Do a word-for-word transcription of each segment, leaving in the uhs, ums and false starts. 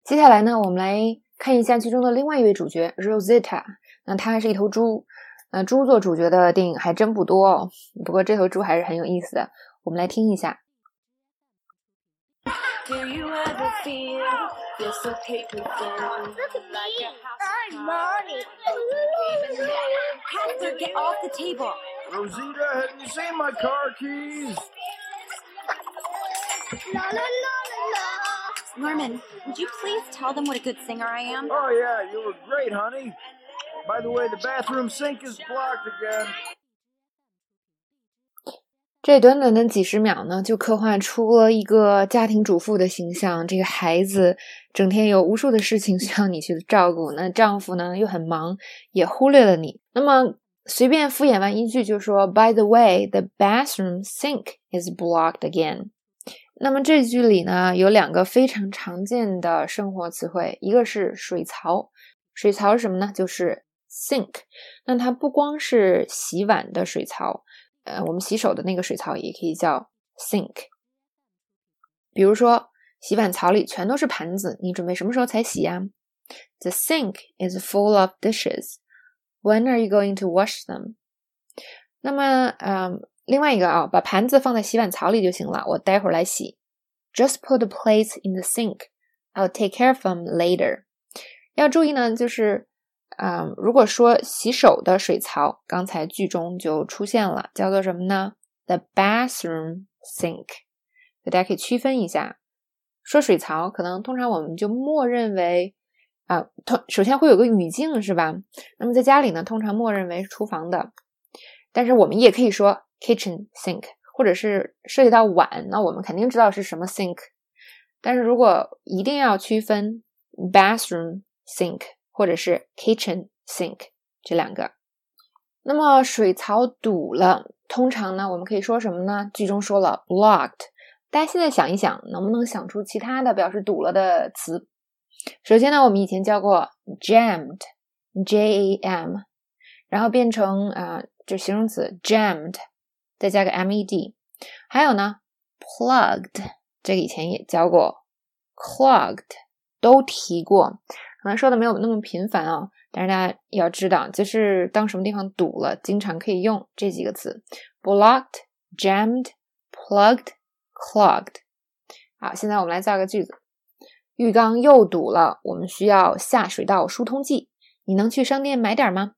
接下来呢，我们来看一下剧中的另外一位主角 Rosita。那她还是一头猪，那猪做主角的电影还真不多哦。不过这头猪还是很有意思的，我们来听一下。 Do you ever feel you're so paper thin? Look at me, I'm Mommy. Casper, get off the table. Rosita, have you seen my car keys? La la la la la. Norman, would you please tell them what a good singer I am? Oh, yeah, you were great, honey. By the way, the bathroom sink is blocked again. 这短短的几十秒呢，就刻画出了一个家庭主妇的形象。这个孩子整天有无数的事情需要你去照顾，那丈夫呢又很忙，也忽略了你。那么随便敷衍完一句就说 By the way, the bathroom sink is blocked again。 那么这句里呢有两个非常常见的生活词汇，一个是水槽。水槽是什么呢？就是 sink。 那它不光是洗碗的水槽，呃，我们洗手的那个水槽也可以叫 sink。 比如说洗碗槽里全都是盘子，你准备什么时候才洗呀？ The sink is full of dishes. When are you going to wash them? 那么嗯，另外一个啊，把盘子放在洗碗槽里就行了，我待会儿来洗。 Just put the plates in the sink. I'll take care of them later. 要注意呢，就是嗯，如果说洗手的水槽，刚才剧中就出现了，叫做什么呢？ The bathroom sink。 大家可以区分一下，说水槽可能通常我们就默认为啊，首先会有个语境是吧？那么在家里呢，通常默认为是厨房的，但是我们也可以说 kitchen sink， 或者是涉及到碗，那我们肯定知道是什么 sink。 但是如果一定要区分 bathroom sink或者是 kitchen sink 这两个，那么水槽堵了，通常呢我们可以说什么呢？剧中说了 blocked。 大家现在想一想，能不能想出其他的表示堵了的词？首先呢，我们以前教过 jammed J A M， 然后变成啊、呃，就形容词 jammed 再加个 M E D。 还有呢 plugged， 这个以前也教过， clogged 都提过，可能说的没有那么频繁啊、哦，但是大家要知道，就是当什么地方堵了，经常可以用这几个词 blocked, jammed, plugged, clogged。 好，现在我们来造个句子。浴缸又堵了，我们需要下水道疏通剂，你能去商店买点吗？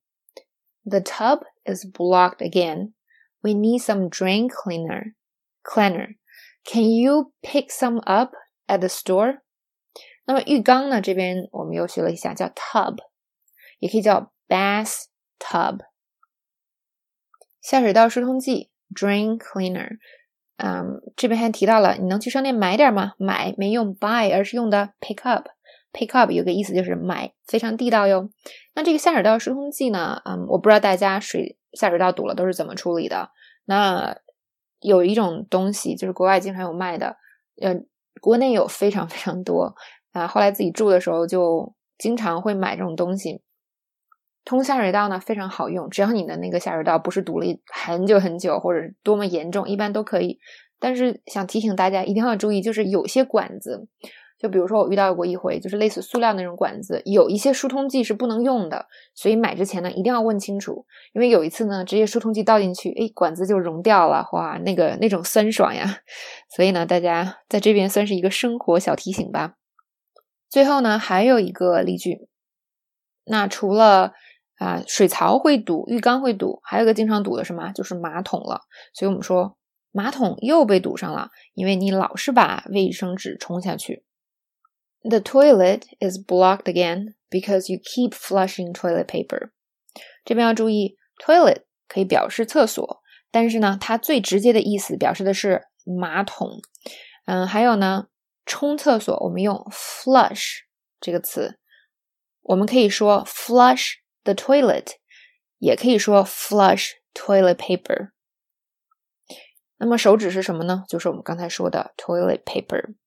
The tub is blocked again. We need some drain cleaner. Cleaner. Can you pick some up at the store? 那么浴缸呢，这边我们又学了一下，叫 tub， 也可以叫 bath tub。 下水道疏通剂 drain cleaner。嗯，这边还提到了，你能去商店买点吗？买没用 buy， 而是用的 pick up。 pick up 有个意思就是买，非常地道哟。那这个下水道疏通剂呢，嗯，我不知道大家水下水道堵了都是怎么处理的。那有一种东西就是国外经常有卖的，呃，国内有非常非常多啊。后来自己住的时候就经常会买这种东西。通下水道呢非常好用，只要你的那个下水道不是堵了很久很久或者多么严重，一般都可以。但是想提醒大家一定要注意，就是有些管子，就比如说我遇到过一回，就是类似塑料那种管子，有一些疏通剂是不能用的，所以买之前呢一定要问清楚。因为有一次呢直接疏通剂倒进去，诶，管子就溶掉了，哇，那个那种酸爽呀。所以呢大家在这边算是一个生活小提醒吧。最后呢还有一个例句，那除了啊，水槽会堵，浴缸会堵，还有一个经常堵的是什么？就是马桶了。所以我们说马桶又被堵上了，因为你老是把卫生纸冲下去。The toilet is blocked again because you keep flushing toilet paper. 这边要注意 toilet 可以表示厕所，但是呢它最直接的意思表示的是马桶。嗯，还有呢冲厕所我们用 flush 这个词，我们可以说 flush the toilet， 也可以说 flush toilet paper。 那么手指是什么呢？就是我们刚才说的 toilet paper。